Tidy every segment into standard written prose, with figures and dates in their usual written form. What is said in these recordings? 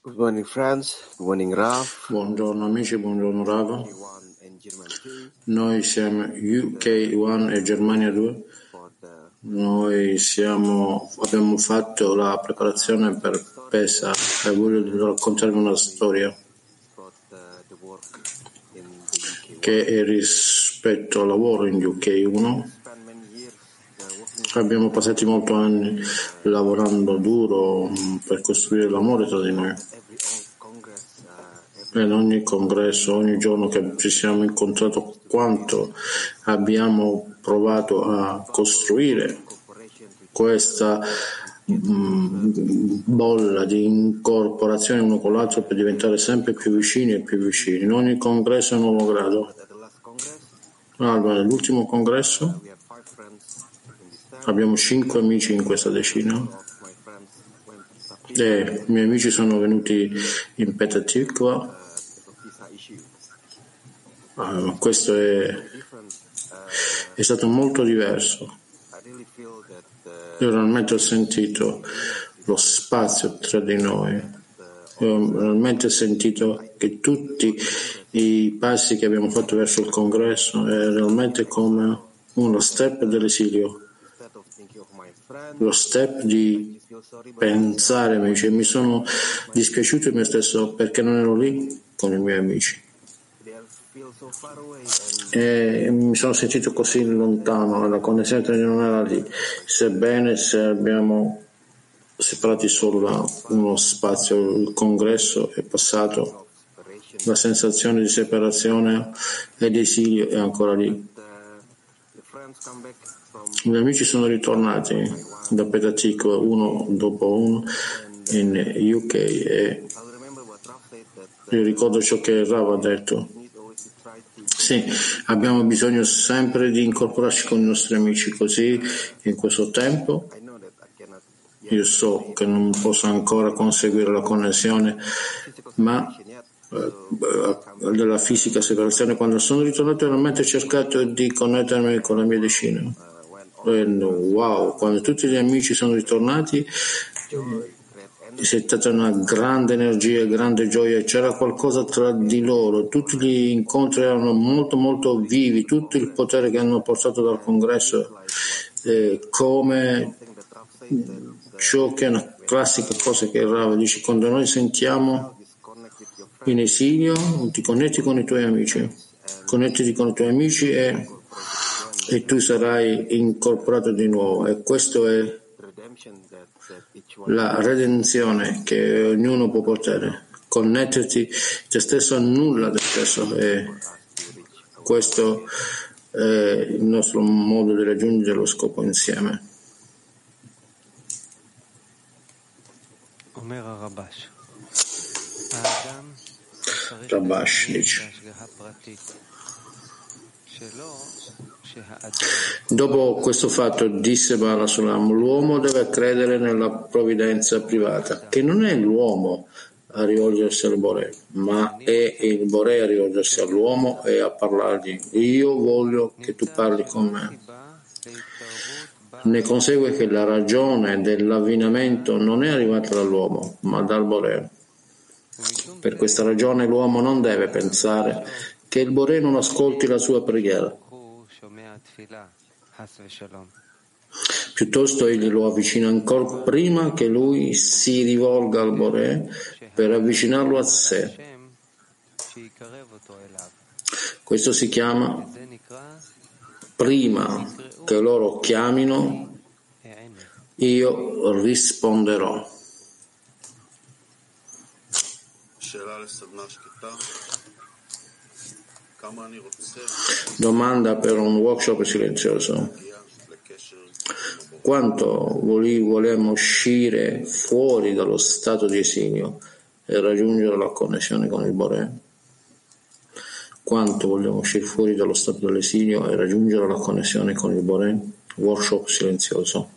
Good morning, friends. Good morning, Raf. Buongiorno amici, buongiorno Rav. One and German 2 Noi siamo UK1 e Germania 2. for the Noi abbiamo fatto la preparazione per Pesa e voglio raccontarvi una storia about the work in the UK. che è rispetto al lavoro in UK1. Spent many years working Abbiamo passati molti anni lavorando duro per costruire l'amore tra di noi. every congress, In ogni congresso, ogni giorno che ci siamo incontrati, quanto abbiamo provato a costruire cooperation with questa bolla di incorporazione uno con l'altro per diventare sempre più vicini e più vicini. In ogni congresso è un nuovo grado. at the last congress. Allora, nell'ultimo congresso We have 5 friends in this town. abbiamo 5 amici in questa decina Of my friends went to Safia e i miei amici sono venuti in Petah Tikva. because of visa issue. Questo Different. è stato molto diverso. I really feel that Io realmente ho sentito lo spazio tra di noi. Io ho realmente sentito che tutti i passi che abbiamo fatto verso il congresso è realmente come uno step dell'esilio, instead of thinking of my friend, lo step di I feel sorry, but pensare ai miei amici. Mi sono dispiaciuto di me stesso perché non ero lì con i miei amici they feel so far away e mi sono sentito così lontano, la connessione tra di noi non era lì, sebbene se abbiamo separati solo da uno spazio. Il congresso è passato, inspiration. la sensazione di separazione e di esilio è ancora lì. The friends come back from I miei amici sono ritornati da Petah Tikva uno dopo uno in UK e I'll remember what Raf said that io ricordo ciò che Rav ha detto. we need always to try to Sì, abbiamo bisogno sempre di incorporarci con i nostri amici, così in questo tempo I know that I cannot io so che non posso ancora conseguire la connessione, physical ma separation yet. della fisica separazione. Quando sono ritornato realmente ho cercato di connettermi con la mia decina. When all E wow, quando tutti gli amici sono ritornati joy, great c'è stata una grande energia, grande gioia, c'era qualcosa tra di loro, tutti gli incontri erano molto molto vivi, tutto il potere che hanno portato dal congresso, come thing that Raf said that ciò che è una classica cosa che Rav dice: quando noi sentiamo disconnect with your friends in esilio ti connetti con i tuoi amici, connettiti con i tuoi amici e tu sarai incorporato di nuovo. E questo è redemption that each one la redenzione che ognuno può portare, connetterti te stesso a nulla te stesso, e us to reach. questo è il nostro modo di raggiungere lo scopo insieme. אומר הרבש, האדם צריך Rabash להתעניין dice: בהשגחה פרטית שלו, שהאדם dopo questo fatto disse Bala Sulam: l'uomo deve credere nella provvidenza privata, che non è l'uomo a rivolgersi al Boré, ma è il Boré a rivolgersi all'uomo e a parlargli: io voglio che tu parli con me. סיבה להתערבות בה Ne consegue che la ragione dell'avvinamento non è arrivata dall'uomo, ma dal Boré. ומשום Per questa ragione l'uomo non deve pensare che il Boré non ascolti la sua preghiera. הוא שומע תפילה, חס ושלום. Piuttosto egli lo avvicina ancora prima che lui si rivolga al Boré per avvicinarlo a sé. השם שיקרב אותו אליו. Questo si chiama זה נקרא prima che loro chiamino, העמק. io risponderò. שאלה לסדנה שקטה, כמה אני רוצה Domanda per un workshop silenzioso. להגיע לקשר עם הבורא. Quanto vogliamo uscire fuori dallo stato di esilio e raggiungere la connessione con il Boré? Quanto vogliamo uscire fuori dallo stato dell'esilio e raggiungere la connessione con il Boré? Workshop silenzioso.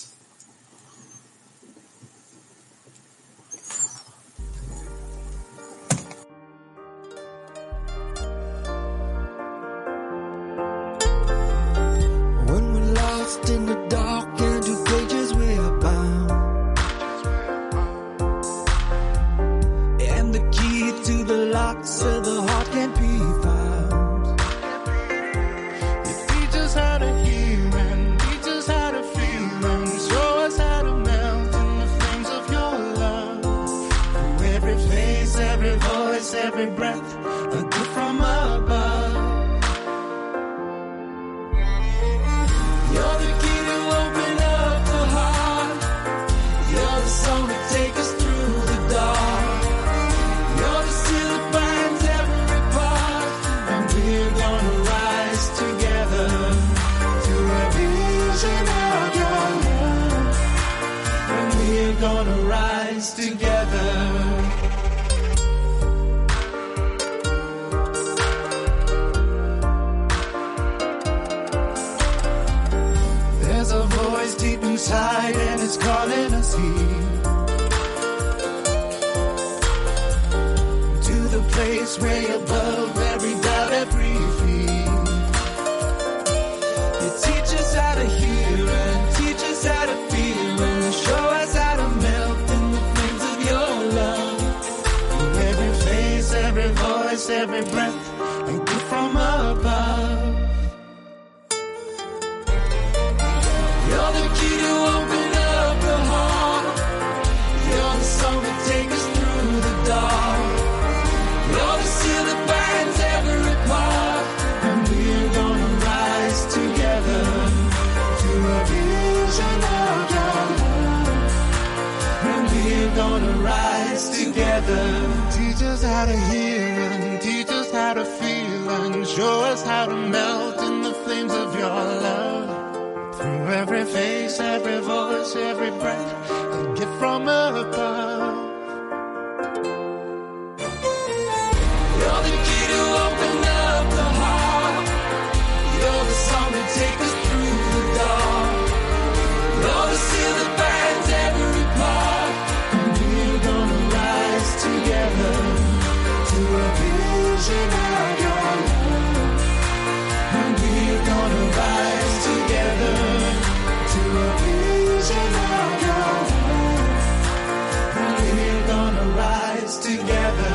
When we're lost in the dark and two cages we are bound, every breath, a gift from above. You're the key to open up the heart. You're the song to take us through the dark. You're the seal that binds every part, and we're gonna rise together to a vision of your love. And we're gonna rise together. There's a voice deep inside and it's calling us here to the place way above every doubt, every fear. You teach us how to hear and teach us how to feel and show us how to melt in the flames of your love. Through every face, every voice, every breath, a gift from above. You're the key to open up the heart. You're the song that takes us through the dark. You're the seal that binds every part. And we're gonna rise together to a vision of your love. And we're gonna rise together. Teach us how to hear and teach us how to feel and show us how to melt in the flames of your love. Through every face, every voice, every breath, a gift from above. You're the key to open up the heart. You're the song that takes us through the dark. You're the seal that binds every part. And we're gonna rise together to a vision of your love. And we're gonna rise together to a vision of your love. And we're gonna rise together.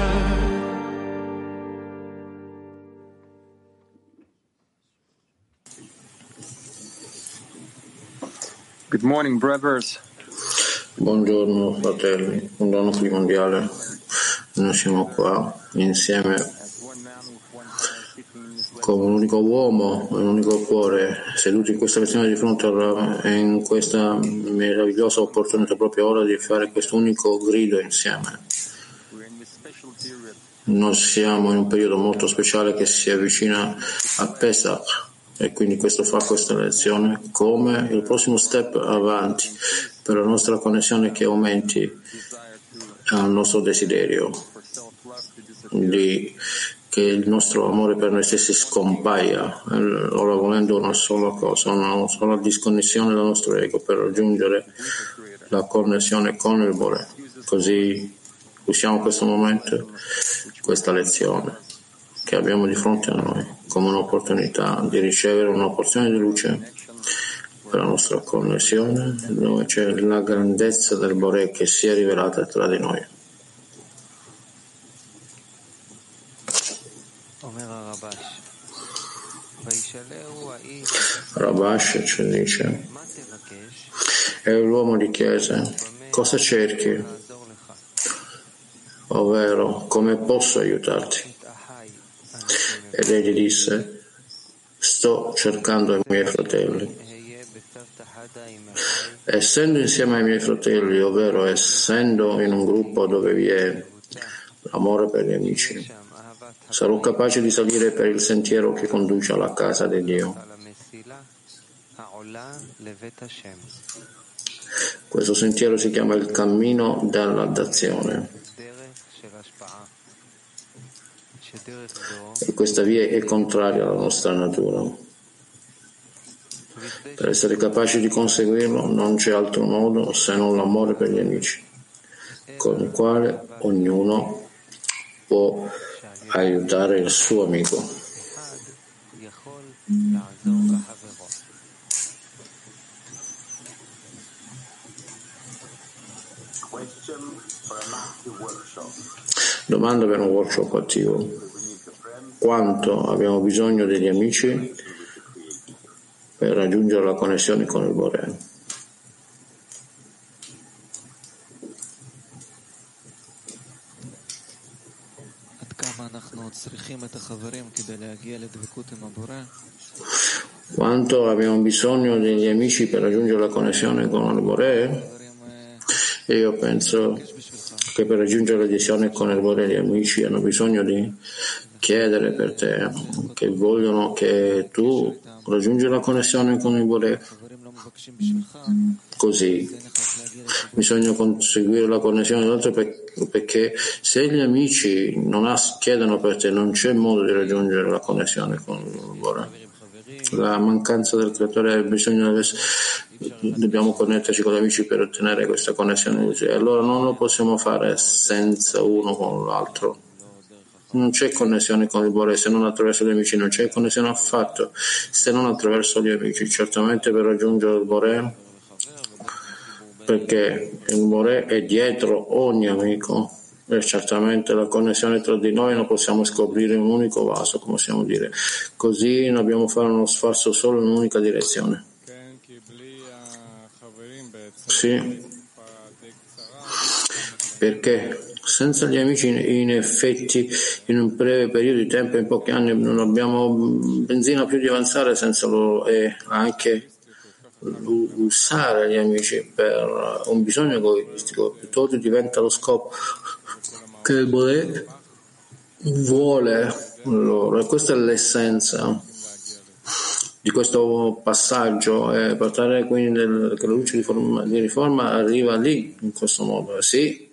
Good morning, brothers. Buongiorno fratelli, un dono primordiale. Noi siamo qua insieme come un unico uomo e un unico cuore, seduti in questa lezione di fronte in questa meravigliosa opportunità proprio ora di fare questo unico grido insieme. Noi siamo in un periodo molto speciale che si avvicina a Pesach e quindi questo fa questa lezione come il prossimo step avanti per la nostra connessione che aumenti al nostro desiderio che il nostro amore per noi stessi scompaia, ora volendo una sola cosa, una sola disconnessione dal nostro ego per raggiungere la connessione con il Bore. Così usiamo questo momento, questa lezione che abbiamo di fronte a noi come un'opportunità di ricevere una porzione di luce per la nostra connessione, dove c'è la grandezza del Bore che si è rivelata tra di noi. Rabash ci dice, è l'uomo di chiesa, cosa cerchi? Ovvero, come posso aiutarti? Ed egli disse, sto cercando i miei fratelli. Essendo insieme ai miei fratelli, ovvero essendo in un gruppo dove vi è l'amore per gli amici, sarò capace di salire per il sentiero che conduce alla casa di Dio. Questo sentiero si chiama il cammino della dazione. E questa via è contraria alla nostra natura. Per essere capaci di conseguirlo non c'è altro modo se non l'amore per gli amici, con il quale ognuno può aiutare il suo amico. Domanda per un workshop attivo. Quanto abbiamo bisogno degli amici per raggiungere la connessione con il Bore? Quanto abbiamo bisogno degli amici per raggiungere la connessione con il Boré? E io penso che per raggiungere l'adesione con il Boré gli amici hanno bisogno di chiedere per te, che vogliono che tu raggiungi la connessione con il Boré. Così bisogna conseguire la connessione dell'altro, perché se gli amici non chiedono per te, non c'è modo di raggiungere la connessione con il Boré. La mancanza del creatore, dobbiamo connetterci con gli amici per ottenere questa connessione, e allora non lo possiamo fare senza uno con l'altro. Non c'è connessione con il Boré se non attraverso gli amici, non c'è connessione affatto se non attraverso gli amici. Certamente per raggiungere il Boré, perché il Boré è dietro ogni amico, e certamente la connessione tra di noi non possiamo scoprire un unico vaso, come possiamo dire. Così dobbiamo fare uno sforzo solo in un'unica direzione. Sì, perché senza gli amici, in effetti, in un breve periodo di tempo, in pochi anni, non abbiamo benzina più di avanzare senza loro, e anche usare gli amici per un bisogno egoistico, piuttosto diventa lo scopo che il Boré vuole loro, e questa è l'essenza di questo passaggio, e portare quindi che la luce di riforma arriva lì, in questo modo. Sì,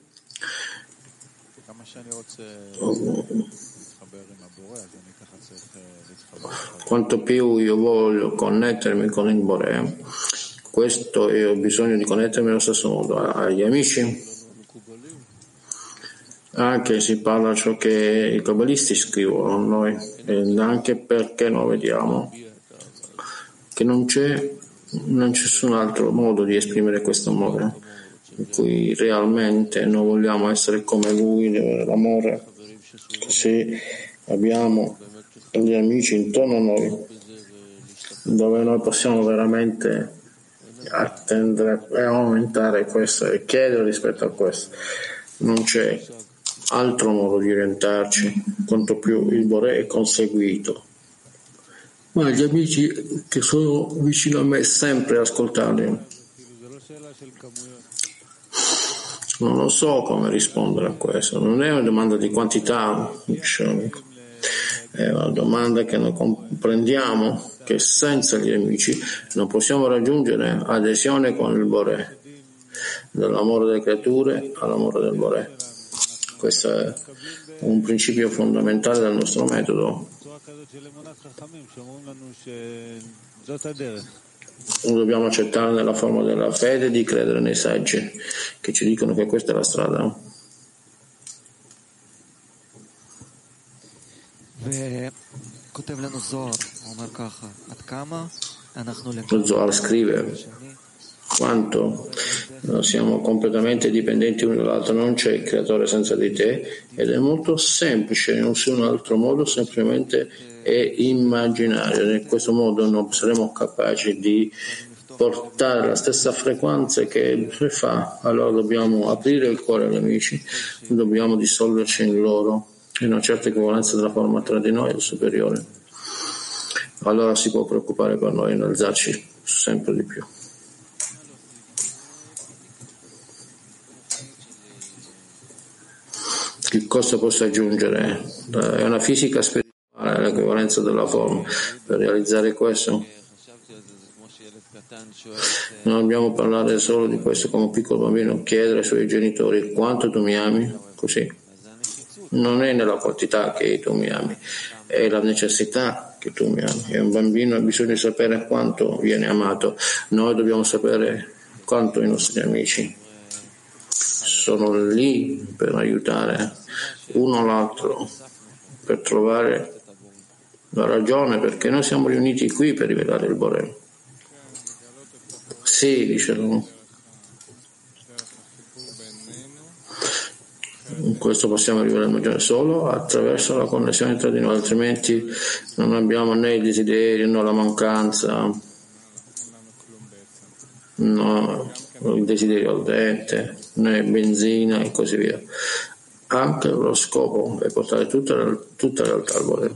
quanto più io voglio connettermi con il Boré, questo io ho bisogno di connettermi allo stesso modo agli amici. Anche si parla ciò che i cabalisti scrivono a noi, e anche perché noi vediamo che non c'è nessun altro modo di esprimere questo amore, in cui realmente noi vogliamo essere come lui, l'amore. Così abbiamo gli amici intorno a noi, dove noi possiamo veramente attendere e aumentare questo e chiedere rispetto a questo. Non c'è altro modo di orientarci, quanto più il Boré è conseguito. Ma gli amici che sono vicino a me, sempre ascoltarli. Non lo so come rispondere a questo. Non è una domanda di quantità, è una domanda che noi comprendiamo che senza gli amici non possiamo raggiungere adesione con il Boré, dall'amore delle creature all'amore del Boré. Questo è un principio fondamentale del nostro metodo. Lo dobbiamo accettare nella forma della fede, di credere nei saggi che ci dicono che questa è la strada. Lo Zohar scrive quanto siamo completamente dipendenti uno dall'altro, non c'è il creatore senza di te, ed è molto semplice, non c'è un altro modo, semplicemente è immaginario. In questo modo non saremo capaci di portare la stessa frequenza che fa. Allora dobbiamo aprire il cuore agli amici, dobbiamo dissolverci in loro, in una certa equivalenza della forma tra di noi e il superiore. Allora si può preoccupare per noi in alzarci sempre di più. Che cosa posso aggiungere? È una fisica spirituale, l'equivalenza della forma. Per realizzare questo non dobbiamo parlare solo di questo come un piccolo bambino, chiedere ai suoi genitori quanto tu mi ami, così. Non è nella quantità che tu mi ami, è la necessità che tu mi ami. E un bambino ha bisogno di sapere quanto viene amato. Noi dobbiamo sapere quanto i nostri amici sono lì per aiutare uno l'altro, per trovare la ragione perché noi siamo riuniti qui per rivelare il Boré. Sì, dice lui. Questo possiamo rivelare solo attraverso la connessione tra di noi, altrimenti non abbiamo né il desiderio, né la mancanza, no, il desiderio ardente, né benzina e così via. anche lo scopo è portare tutta la realtà al Bore.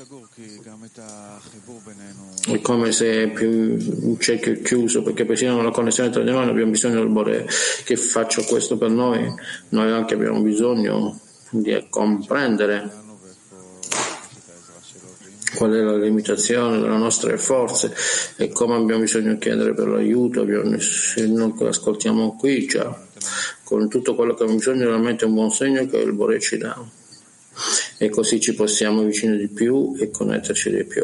È come se è più un cerchio chiuso, perché persino nella connessione tra di noi abbiamo bisogno del Bore che faccia questo per noi. Noi anche abbiamo bisogno di comprendere qual è la limitazione delle nostre forze e come abbiamo bisogno di chiedere per l'aiuto. Se non ascoltiamo qui già, con tutto quello che abbiamo bisogno, realmente è un buon segno che il Bore ci dà, e così ci possiamo avvicinare di più e connetterci di più.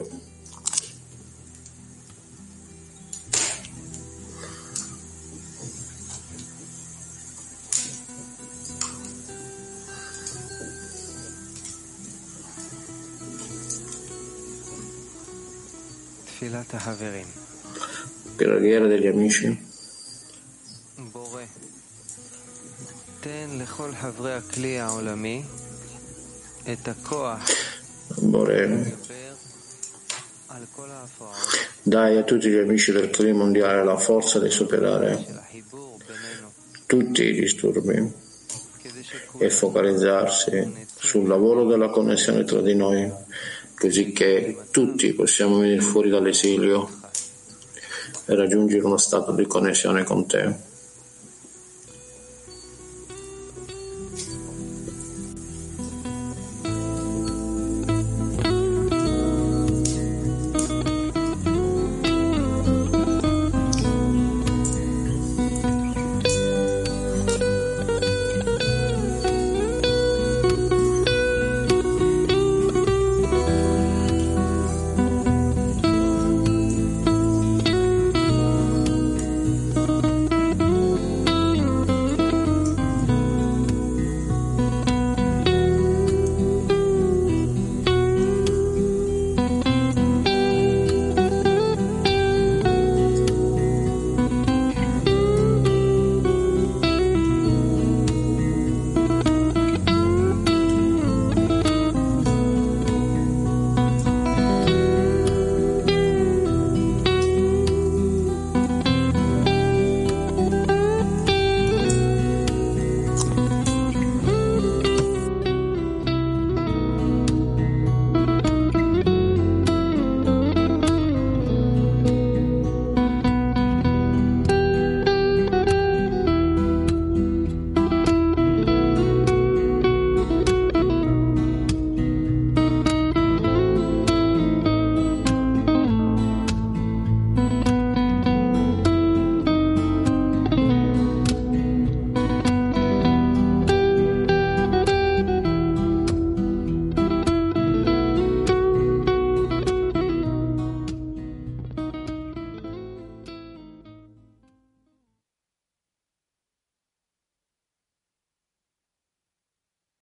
Preghiera degli amici. Bore, ten lechol havre הכלי העולמי את הכוח לדבר על כל ההפרעות Dai a tutti gli amici del clima mondiale la forza di superare של החיבור בינינו tutti i disturbi e focalizzarsi sul lavoro della connessione tra di noi, così che tutti possiamo venire fuori dall'esilio e raggiungere uno stato di connessione con te.